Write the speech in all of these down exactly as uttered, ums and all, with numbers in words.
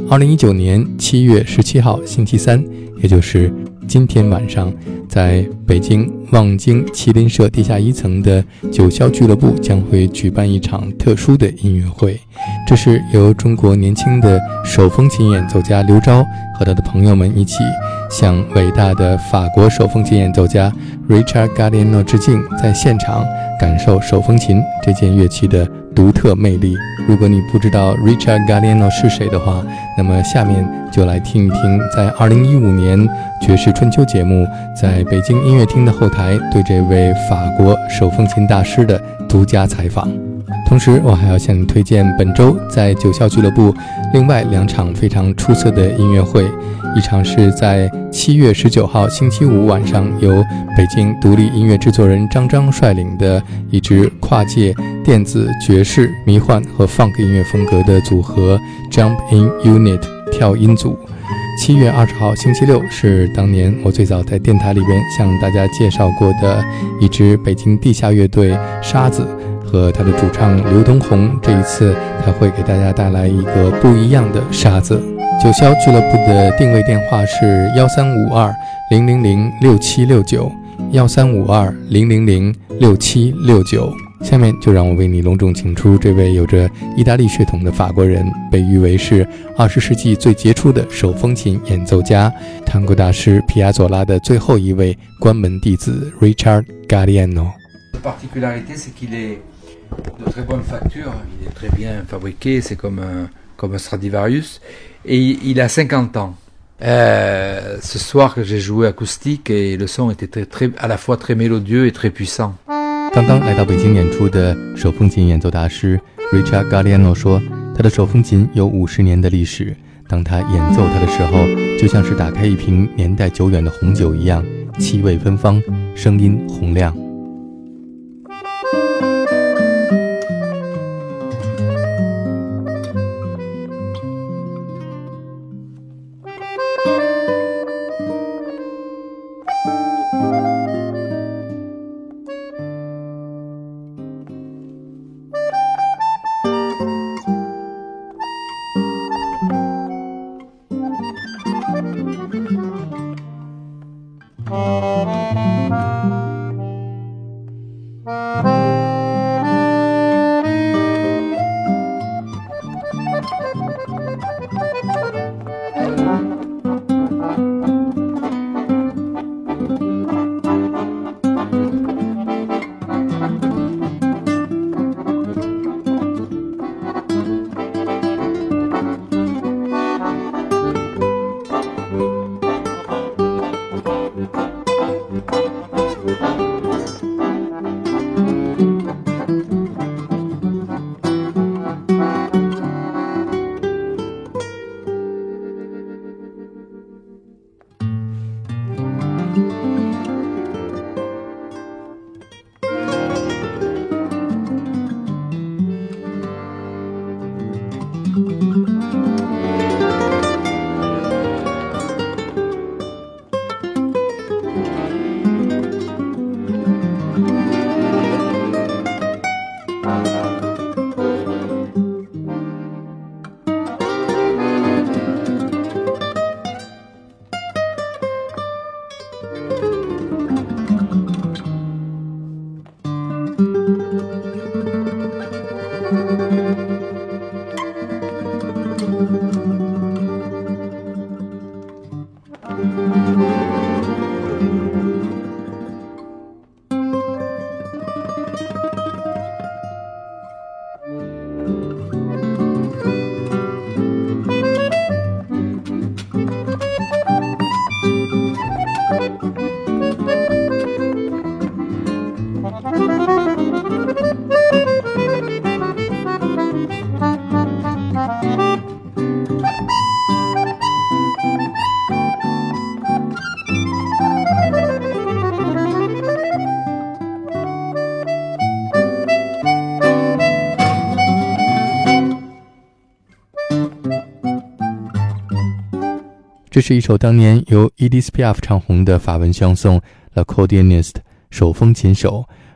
二零一九年七月十七号星期三，也就是今天晚上，在北京望京麒麟社地下一层的九霄俱乐部将会举办一场特殊的音乐会。这是由中国年轻的手风琴演奏家刘钊和他的朋友们一起向伟大的法国手风琴演奏家 Richard Galliano 致敬，在现场感受手风琴这件乐器的独特魅力。如果你不知道 Richard Galliano 是谁的话，那么下面就来听一听在二零一五年爵士春秋节目在北京音乐厅的后台对这位法国手风琴大师的独家采访。同时我还要向你推荐本周在九霄俱乐部另外两场非常出色的音乐会，一场是在七月十九号星期五晚上由北京独立音乐制作人张张率领的一支跨界电子、爵士、迷幻和 funk 音乐风格的组合 Jump In Unit 跳音组。七月二十号星期六是当年我最早在电台里边向大家介绍过的一支北京地下乐队沙子和他的主唱刘东红，这一次他会给大家带来一个不一样的沙子。九霄俱乐部的定位电话是幺三五二零零零六七六九幺三五二零零零六七六九。下面就让我为你隆重请出这位有着意大利血统的法国人，被誉为是二十世纪最杰出的手风琴演奏家，探戈大师皮亚佐拉的最后一位关门弟子 Richard Galliano。La particularité, c'est qu'il est de très bonne facture, il est très bien fabriqué, c'est comme un, comme un Stradivarius, et il a cinquante ans. Euh, ce soir que j'ai joué acoustique et le son était très, très, à la fois très mélodieux et très puissant. 刚刚来到北京演出的手风琴演奏大师 Richard Galliano 说，他的手风琴有五十年的历史，当他演奏它的时候，就像是打开一瓶年代久远的红酒一样，气味芬芳，声音洪亮。这是一首当年由 Edith Piaf 唱红的法文相颂 L'accordéoniste 手风琴手，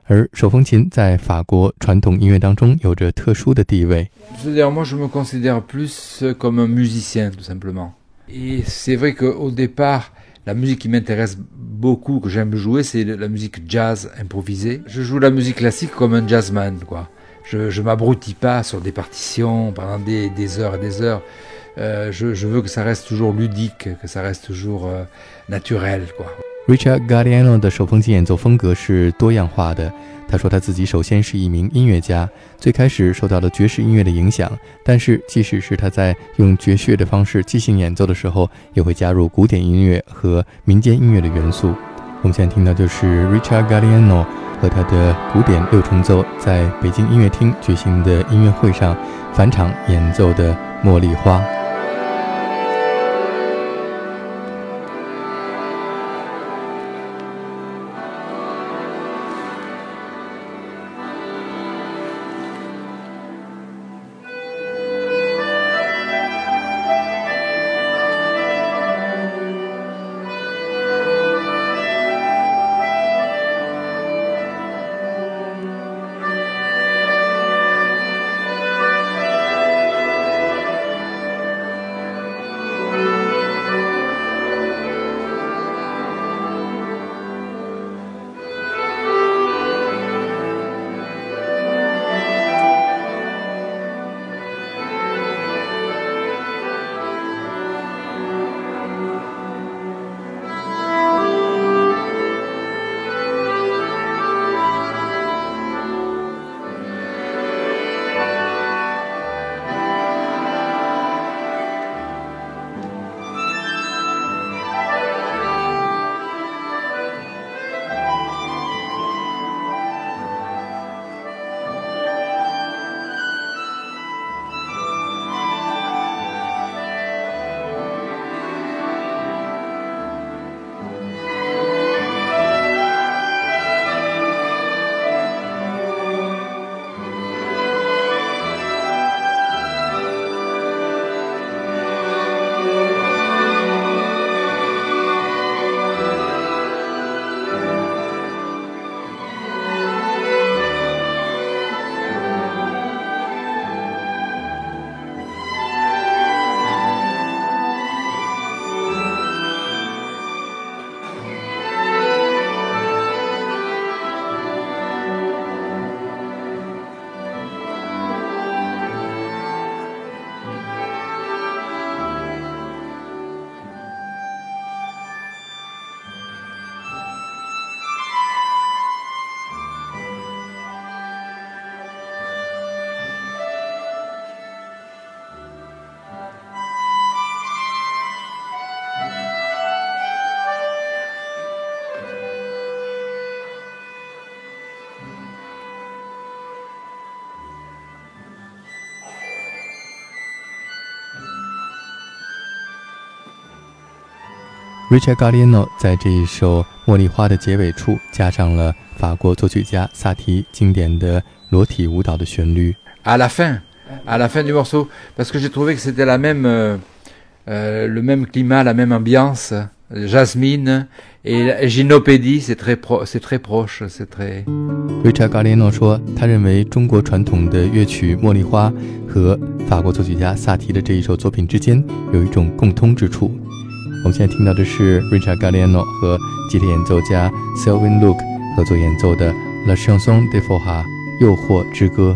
而手风琴在法国传统音乐当中有着特殊的地位。 C'est-à-dire, moi, je me considère plus comme un musicien, tout simplement. Et c'est vrai qu'au départ, la musique qui m'intéresse beaucoup, que j'aime jouer, c'est la musique jazz improvisée. Je joue la musique classique comme un jazzman, quoi. Je, je m'abrutis pas sur des partitions pendant des, des heures et des heures. Euh, je, je veux que ça reste toujours ludique, que ça reste toujours euh, naturel, quoi. Richard Galliano 的手风琴演奏风格是多样化的。他说他自己首先是一名音乐家，最开始受到了爵士音乐的影响，但是即使是他在用爵士的方式即兴演奏的时候，也会加入古典音乐和民间音乐的元素。我们现在听到就是 Richard Galliano 和他的古典六重奏在北京音乐厅举行的音乐会上返场演奏的《茉莉花》。Richard Galliano 在这一首《茉莉花》的结尾处加上了法国作曲家萨提经典的裸体舞蹈的旋律。 À la fin, à la fin du morceau, parce que j'ai trouvé que c'était la même, euh, euh, le même climat, la même ambiance. Jasmine et Gynopédie, c'est très pro, c'est très proche, c'est très. Richard Galliano 说，他认为中国传统的乐曲《茉莉花》和法国作曲家萨提的这一首作品之间有一种共通之处。我们现在听到的是 Richard Galliano 和吉他演奏家 Sylvain Luc 合作演奏的 La Chanson des Forats 诱惑之歌。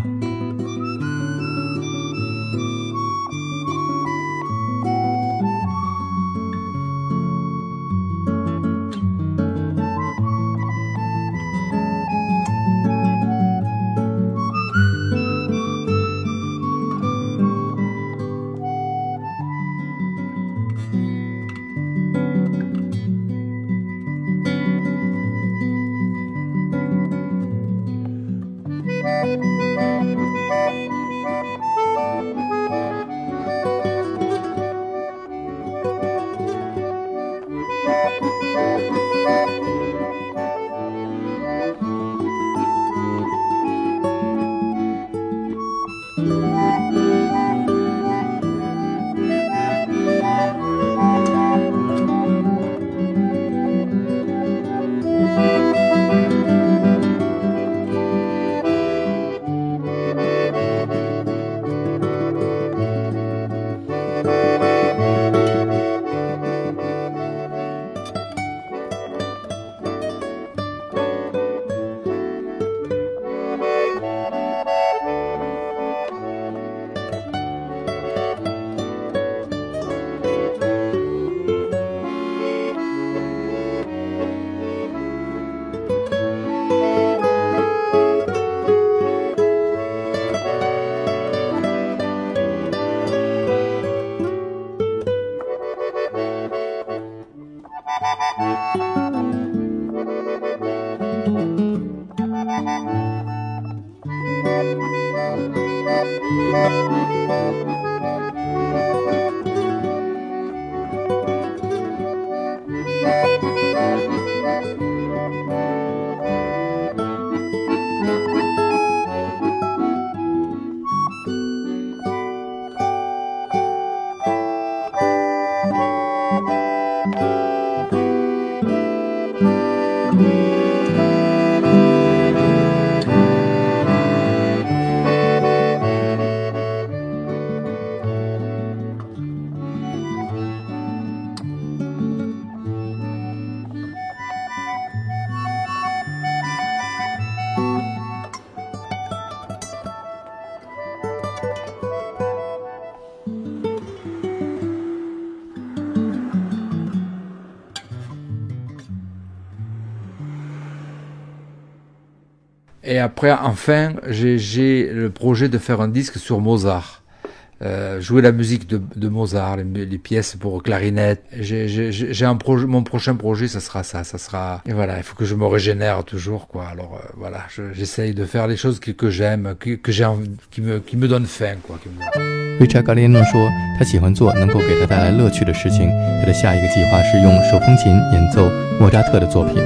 Et après, enfin, j'ai, j'ai le projet de faire un disque sur Mozart. Euh, jouer la musique de, de Mozart, les, les pièces pour clarinette. J'ai, j'ai, j'ai un projet, mon prochain projet, ça sera ça, ça sera. Et voilà, il faut que je me régénère toujours, quoi. Alors euh, voilà, je, j'essaye de faire les choses que, que j'aime, que, que j'ai, qui me, qui me donnent faim, quoi. Richard Galliano 说，他喜欢做能够给他带来乐趣的事情。他的下一个计划是用手风琴演奏莫扎特的作品。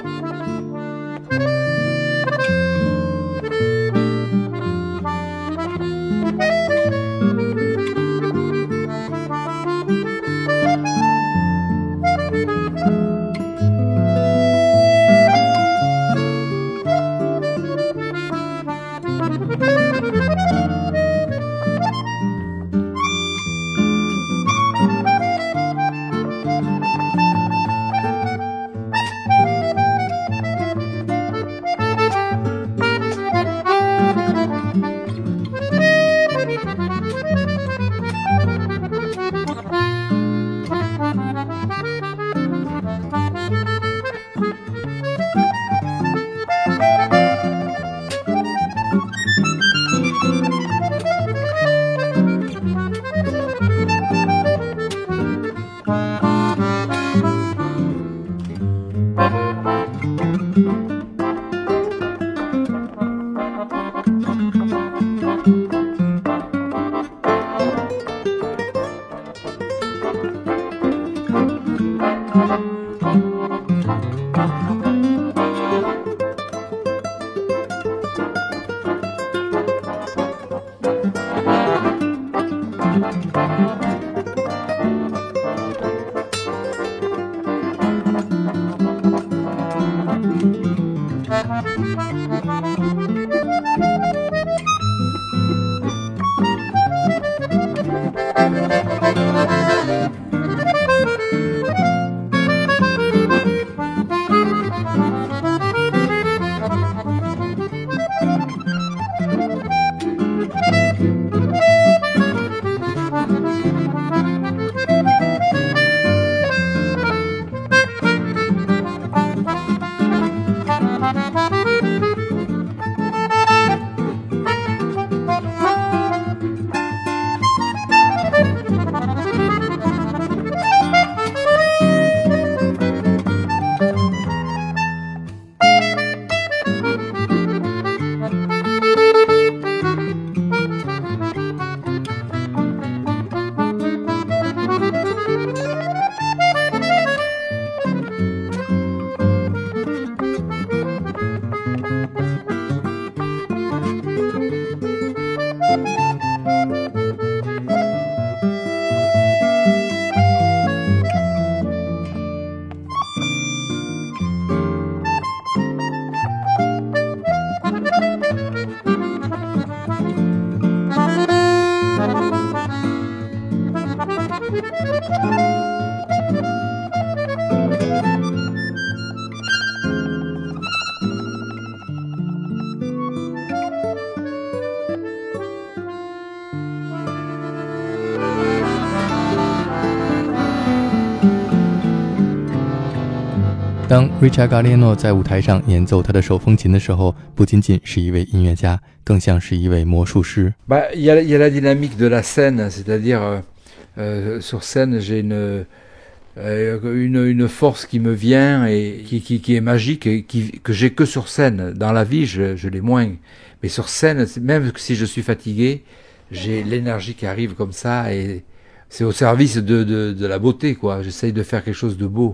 当 Richard Galliano 在舞台上演奏他的手风琴的时候，不仅仅是一位音乐家，更像是一位魔术师。 Bah, il y a, il y a la dynamique de la scène, c'est-à-dire euh, euh, sur scène, j'ai une, euh, une une force qui me vient et qui qui, qui est magique et qui que j'ai que sur scène. Dans la vie, je, je l'ai moins, mais sur scène, même si je suis fatigué, j'ai l'énergie qui arrive comme ça et c'est au service de de, de la beauté, quoi. J'essaye de faire quelque chose de beau.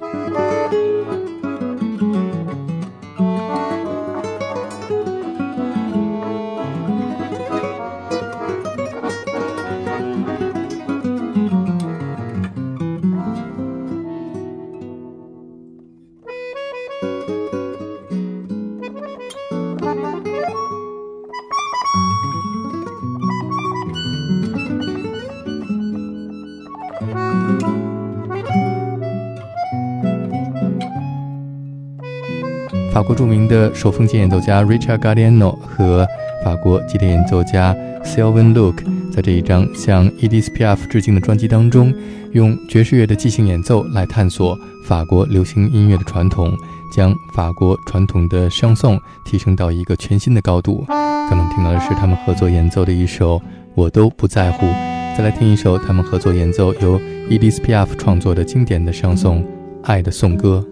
法国著名的手风琴演奏家 Richard Galliano 和法国吉他演奏家 Sylvain Luc 在这一张向 Edith Piaf 致敬的专辑当中，用爵士乐的即兴演奏来探索法国流行音乐的传统，将法国传统的唱颂提升到一个全新的高度。刚刚听到的是他们合作演奏的一首《我都不在乎》，再来听一首他们合作演奏由 Edith Piaf 创作的经典的唱颂《爱的颂歌》。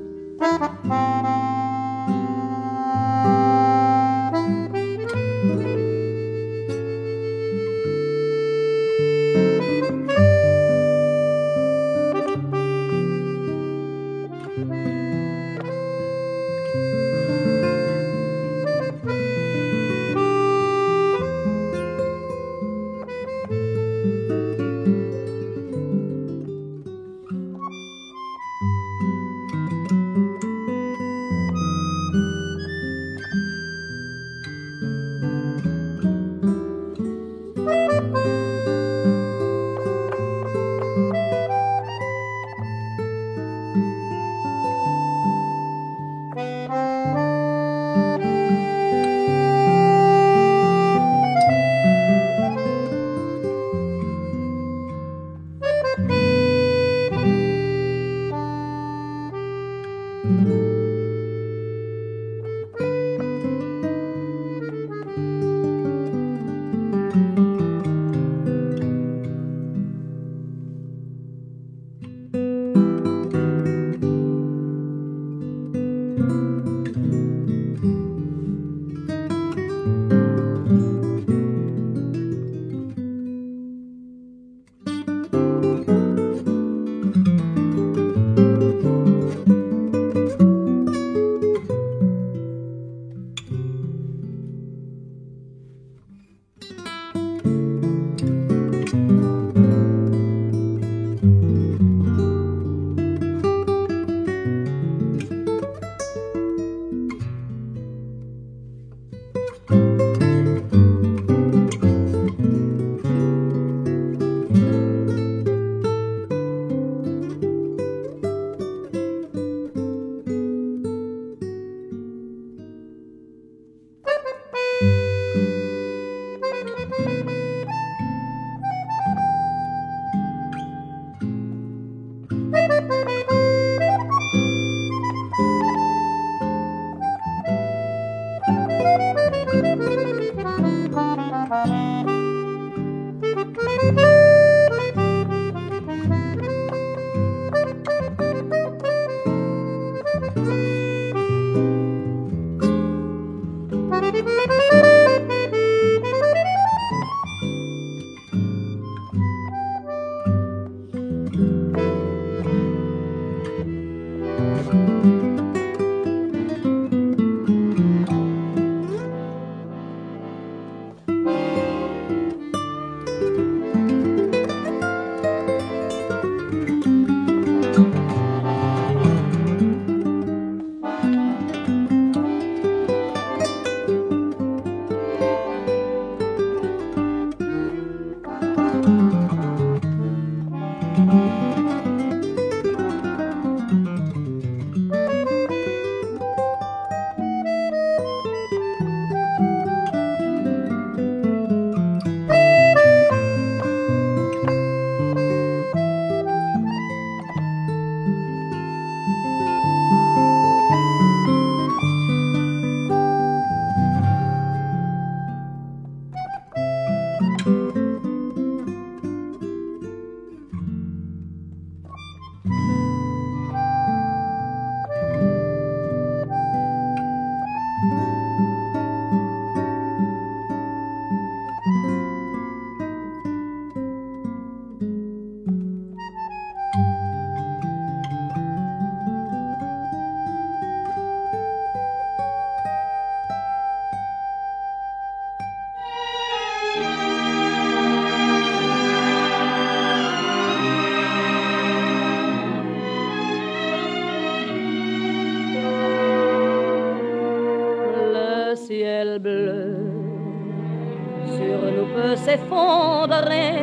peut s'effondrer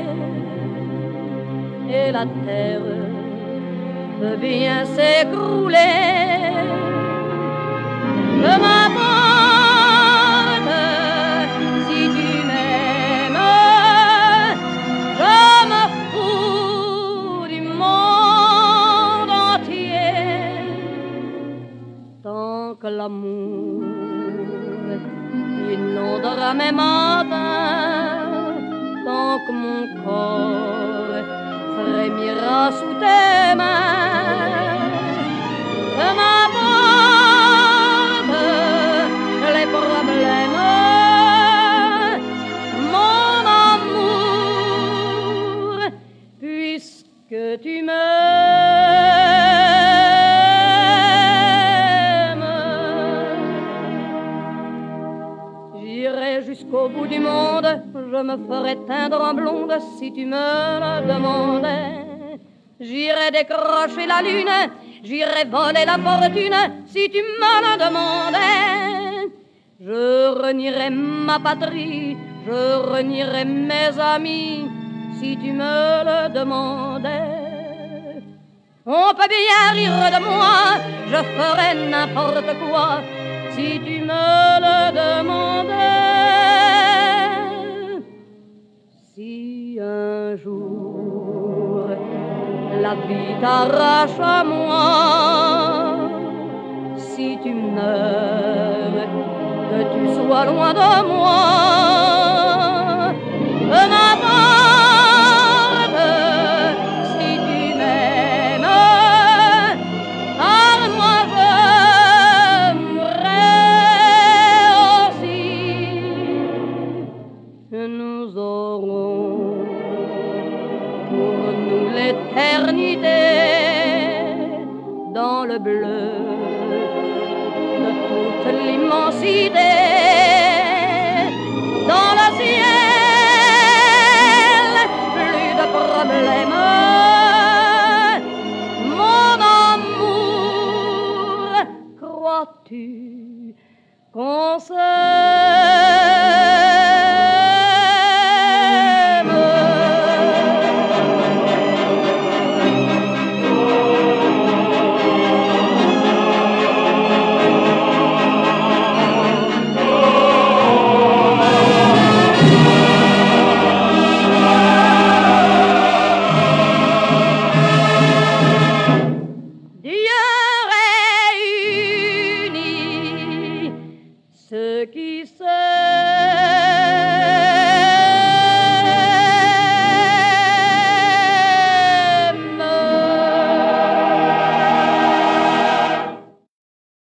et la terre peut bien s'écrouler. Peu m'importe si tu m'aimes, je me fous du monde entier. Tant que l'amour inondera mes matins, tant que mon corps frémira sous tes mains, que m'importe les problèmes, mon amour, puisque tu m'aimes. J'irai jusqu'au bout du monde, je me ferai teindre en blonde si tu me le demandais. J'irai décrocher la lune, j'irai voler la fortune si tu me le demandais. Je renierai ma patrie, je renierai mes amis si tu me le demandais. On peut bien rire de moi, je ferai n'importe quoi si tu me le demandais. Si un jour la vie t'arrache à moi, si tu meurs, que tu sois loin de moi, peu m'importe si tu m'aimes, car moi je mourrai aussi. Nous aurons pour nous l'éternité dans le bleu de toute l'immensité, dans le ciel, plus de problèmes, mon amour, crois-tu qu'on se